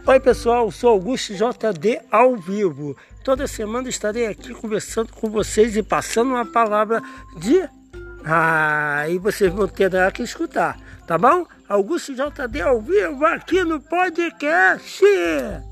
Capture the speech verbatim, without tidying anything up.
Oi pessoal, sou Augusto J D ao vivo. Toda semana estarei aqui conversando com vocês e passando uma palavra de... Ah, e vocês vão ter que escutar, tá bom? Augusto J D ao vivo aqui no podcast.